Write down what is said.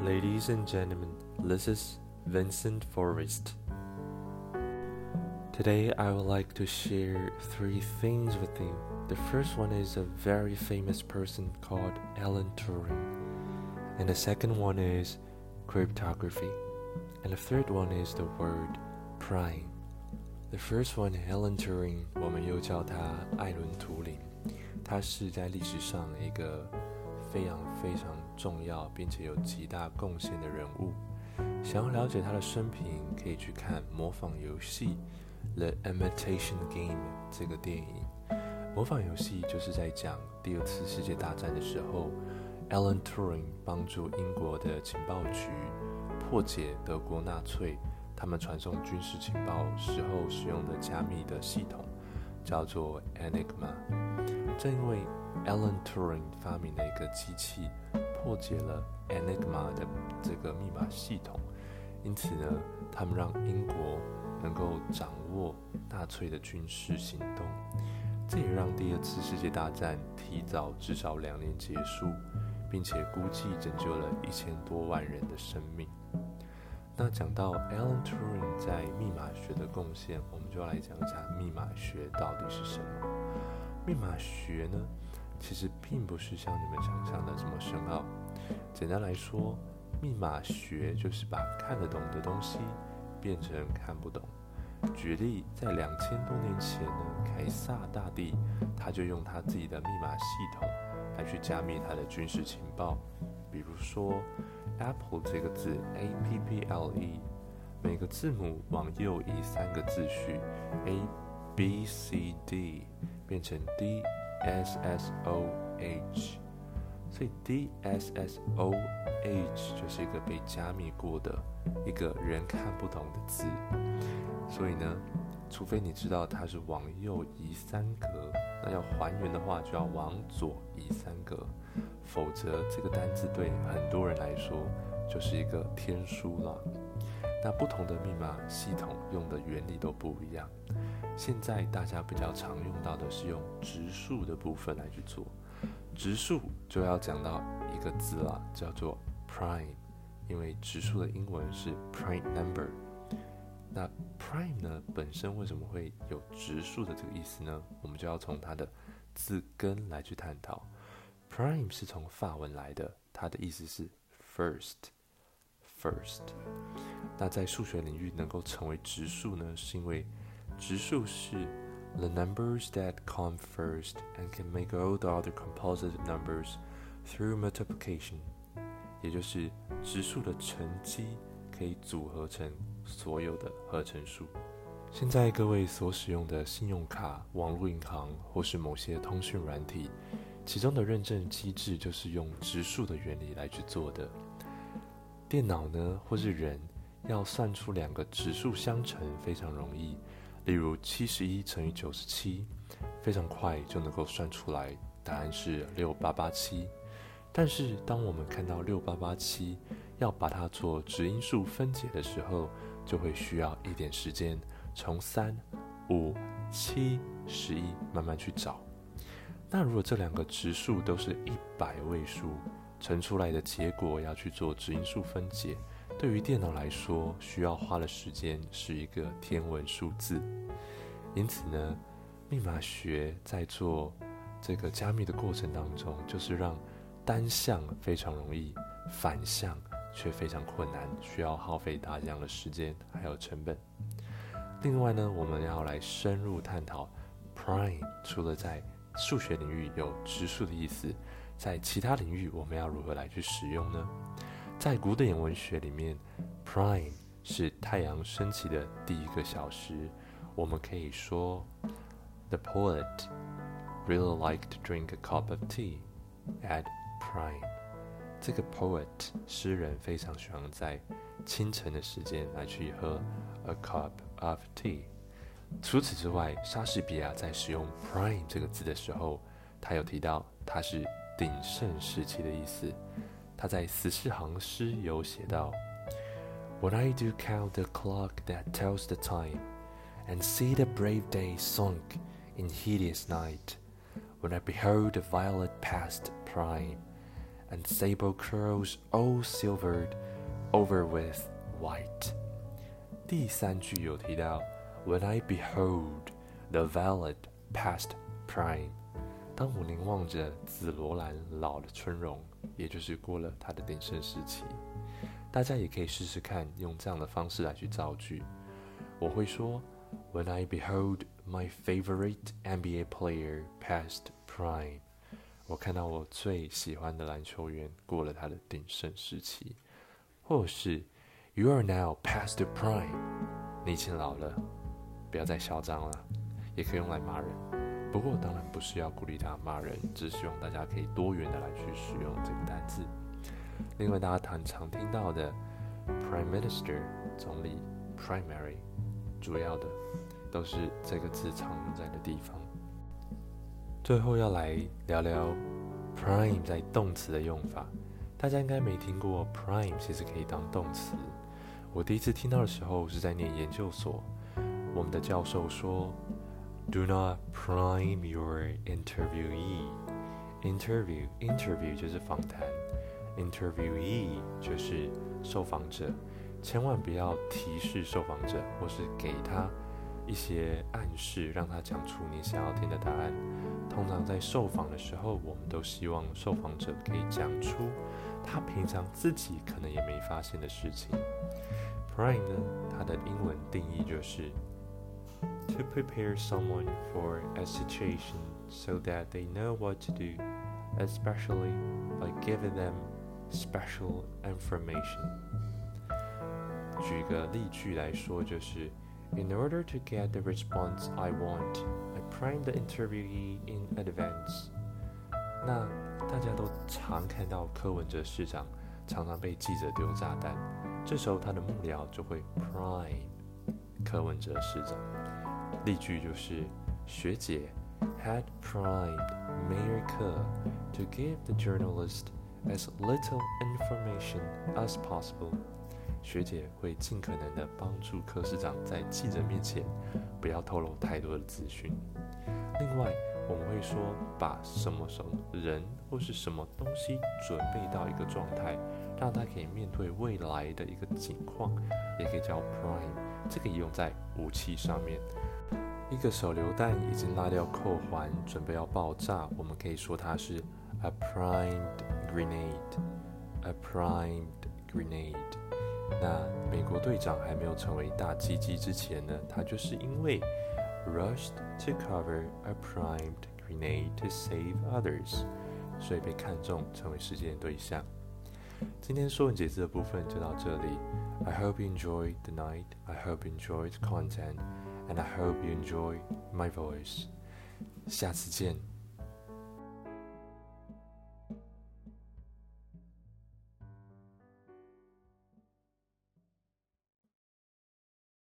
Ladies and gentlemen, this is Vincent Forrest. Today I would like to share 3 things with you. The first one is a very famous person called Alan Turing. And the second one is cryptography. And the third one is the word prime. The first one, Alan Turing, 我们又叫他艾伦·图灵。他是在历史上一个非常重要并且有极大贡献的人物。想要了解他的生平，可以去看《模仿游戏》The Imitation Game 这个电影。模仿游戏就是在讲第2次世界大战的时候 Alan Turing 帮助英国的情报局破解德国纳粹他们传送军事情报时候使用的加密的系统，叫做 Enigma。 正因为 Alan Turing 发明了一个机器破解了 Enigma 的这个密码系统，因此呢，他们让英国能够掌握纳粹的军事行动，这也让第2次世界大战提早至少2年结束，并且估计拯救了1000多万人的生命。那讲到 Alan Turing 在密码学的贡献，我们就要来讲一下密码学到底是什么。密码学呢，其实并不是像你们想象的这么深奥。简单来说，密码学就是把看得懂的东西变成看不懂。举例，在2000多年前呢，凯撒大帝他就用他自己的密码系统来去加密他的军事情报。比如说 Apple 这个字 APPLE， 每个字母往右移3个字序 ABCD 变成 DSSOH， 所以 DSSOH 就是一个被加密过的一个人看不懂的字。所以呢，除非你知道它是往右移3格，那要还原的话就要往左移3格，否则这个单字对很多人来说就是一个天书了。那不同的密码系统用的原理都不一样。现在大家比较常用到的是用质数的部分来去做。质数就要讲到一个字啦，叫做 prime， 因为质数的英文是 prime number。那 prime 呢，本身为什么会有质数的这个意思呢？我们就要从它的字根来去探讨。prime 是从法文来的，它的意思是 first。那在数学领域能够成为质数呢，是因为质数是 the numbers that come first and can make all the other composite numbers through multiplication， 也就是质数的乘积可以组合成所有的合成数。现在各位所使用的信用卡、网络银行或是某些通讯软体，其中的认证机制就是用质数的原理来去做的。电脑呢，或是人要算出2个质数相乘非常容易，例如71乘以97，非常快就能够算出来，答案是6887。但是当我们看到6887要把它做质因数分解的时候，就会需要一点时间，从3、5、7、11慢慢去找。那如果这2个质数都是100位数，乘出来的结果要去做质因数分解，对于电脑来说需要花的时间是一个天文数字。因此呢，密码学在做这个加密的过程当中，就是让单项非常容易，反向却非常困难，需要耗费大量的时间还有成本。另外呢，我们要来深入探讨 prime 除了在数学领域有质数的意思，在其他领域我们要如何来去使用呢？在古典文学里面 prime 是太阳升起的第1个小时，我们可以说 The poet really liked to drink a cup of tea at prime。 这个 poet 诗人非常喜欢在清晨的时间来去喝 a cup of tea。 除此之外，莎士比亚在使用 prime 这个字的时候，他有提到它是鼎盛时期的意思。他在14行诗有写到 When I do count the clock that tells the time and see the brave day sunk in hideous night, when I behold the violet past prime and sable curls all silvered over with white。第3句有提到 When I behold the violet past prime， 当我凝望着紫罗兰老的春容，也就是过了它的鼎盛时期。大家也可以试试看用这样的方式来去造句。我会说 When I behold my favorite NBA player past prime， 我看到我最喜欢的篮球员过了他的鼎盛时期。或者是 You are now past the prime， 你已经老了，不要再嚣张了。也可以用来骂人，不过当然不是要鼓励大家骂人，只是希望大家可以多元的来去使用这个单字。另外大家很常听到的 Prime Minister 总理 Primary 主要的都是这个字常用在的地方。最后要来聊聊 Prime 在动词的用法。大家应该没听过 Prime 其实可以当动词。我第一次听到的时候是在念研究所，我们的教授说 Do not prime your interviewee。 Interview 就是访谈， Interviewee 就是受访者。千万不要提示受访者，或是给他一些暗示，让他讲出你想要听的答案。通常在受访的时候，我们都希望受访者可以讲出他平常自己可能也没发现的事情。Prime 呢，它的英文定义就是 To prepare someone for a situation so that they know what to do, especially by giving them special information。 举个例句来说，就是 In order to get the response I want, I prime the interviewee in advance。 那大家都常看到柯文哲市长常常被记者丢炸弹，这时候他的幕僚就会 prime 柯文哲市长。例句就是学姐 had primed Mayor Ke to give the journalist as little information as possible。 学姐会尽可能的帮助柯市长在记者面前不要透露太多的资讯。另外我们会说把什么人或是什么东西准备到一个状态，让他可以面对未来的一个情况，也可以叫 prime。 这个也用在武器上面。一个手榴弹已经拉掉扣环，准备要爆炸，我们可以说它是 a primed grenade。 A primed grenade。 那美国队长还没有成为大鸡鸡之前呢，他就是因为 rushed to cover a primed grenade to save others， 所以被看中成为事件的对象。今天说文解字的部分就到这里。 I hope you enjoyed the night, I hope you enjoyed the content, and I hope you enjoy my voice。 下次见。